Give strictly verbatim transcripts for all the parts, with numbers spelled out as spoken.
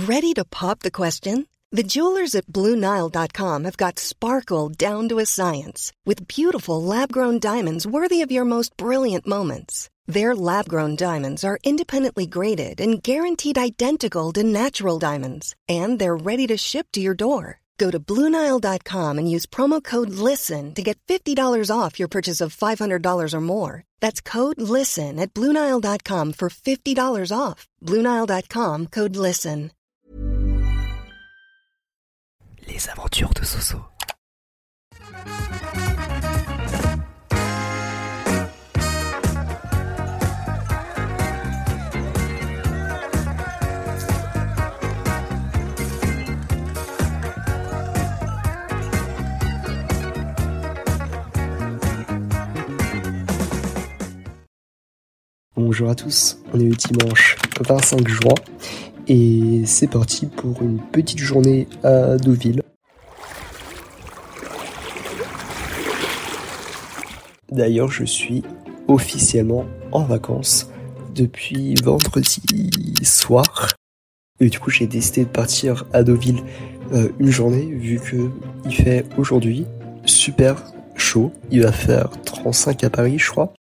Ready to pop the question? The jewelers at Blue Nile dot com have got sparkle down to a science with beautiful lab-grown diamonds worthy of your most brilliant moments. Their lab-grown diamonds are independently graded and guaranteed identical to natural diamonds, and they're ready to ship to your door. Go to Blue Nile dot com and use promo code LISTEN to get fifty dollars off your purchase of five hundred dollars or more. That's code LISTEN at Blue Nile dot com for fifty dollars off. Blue Nile dot com, code LISTEN. Les aventures de Soso. Bonjour à tous, on est le dimanche vingt-cinq juin et c'est parti pour une petite journée à Deauville. D'ailleurs, je suis officiellement en vacances depuis vendredi soir et du coup j'ai décidé de partir à Deauville euh, une journée vu que il fait aujourd'hui super chaud, il va faire trente-cinq à Paris je crois.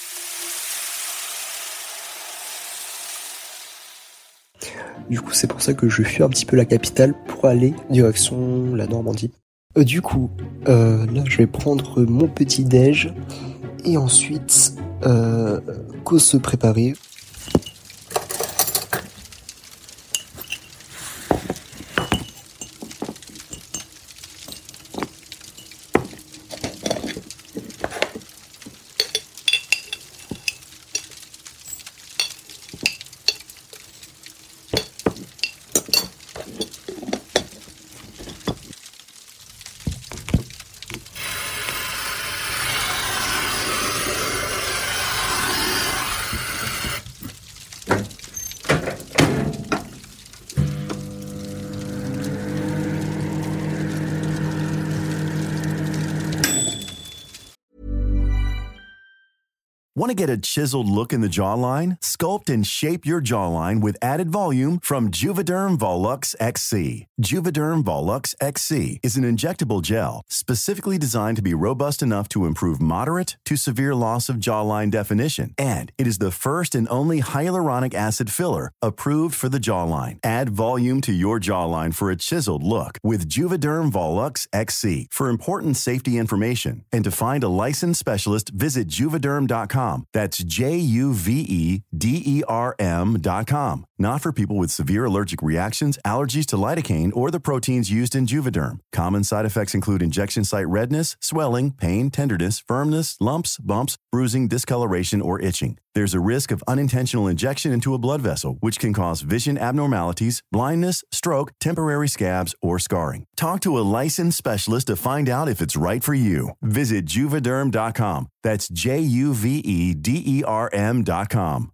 Du coup, c'est pour ça que je fuis un petit peu la capitale pour aller direction la Normandie. Euh, du coup, euh, là, je vais prendre mon petit déj et ensuite, euh, qu'au se préparer. Want to get a chiseled look in the jawline? Sculpt and shape your jawline with added volume from Juvederm Volux X C. Juvederm Volux X C is an injectable gel specifically designed to be robust enough to improve moderate to severe loss of jawline definition. And it is the first and only hyaluronic acid filler approved for the jawline. Add volume to your jawline for a chiseled look with Juvederm Volux X C. For important safety information and to find a licensed specialist, visit juvederm dot com. That's J U V E D E R M dot com. Not for people with severe allergic reactions, allergies to lidocaine, or the proteins used in Juvederm. Common side effects include injection site redness, swelling, pain, tenderness, firmness, lumps, bumps, bruising, discoloration, or itching. There's a risk of unintentional injection into a blood vessel, which can cause vision abnormalities, blindness, stroke, temporary scabs, or scarring. Talk to a licensed specialist to find out if it's right for you. Visit juvederm dot com. That's J U V E D E R M dot com.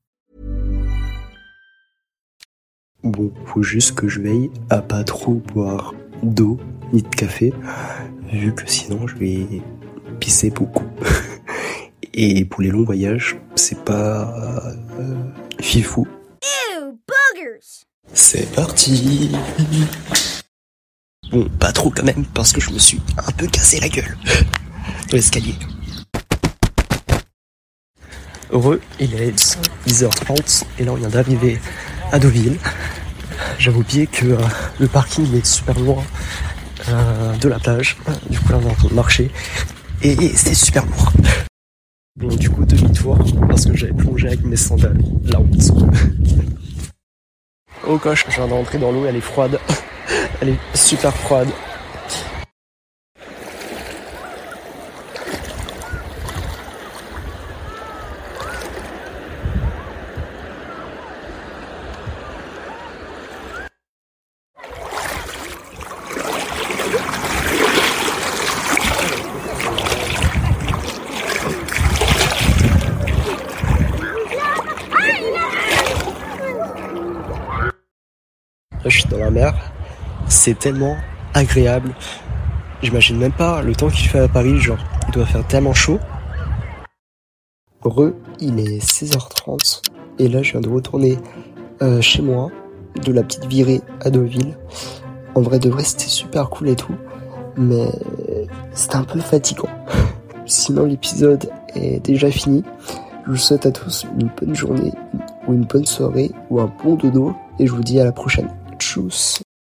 Bon, faut juste que je veille à pas trop boire d'eau ni de café, vu que sinon je vais pisser beaucoup. Et pour les longs voyages, c'est pas euh, fifou. Ew, boogers! C'est parti! Bon, pas trop quand même, parce que je me suis un peu cassé la gueule dans l'escalier. Heureux, il est dix heures trente, et là on vient d'arriver à Deauville. J'avais oublié que euh, le parking est super loin euh, de la plage. Du coup là on est en train de marcher, et, et c'est super lourd. Bon, du coup, demi-tour, parce que j'avais plongé avec mes sandales, là en dessous. Oh coche, je viens d'entrer dans l'eau, elle est froide. Elle est super froide. Là, je suis dans la mer, c'est tellement agréable. J'imagine même pas le temps qu'il fait à Paris, genre, il doit faire tellement chaud. Re, il est seize heures trente, et là, je viens de retourner euh, chez moi. de la petite virée à Deauville. En vrai de vrai, c'était super cool et tout, mais c'était un peu fatigant. Sinon, l'épisode est déjà fini. Je vous souhaite à tous une bonne journée, ou une bonne soirée, ou un bon dodo, et je vous dis à la prochaine. Tchuss.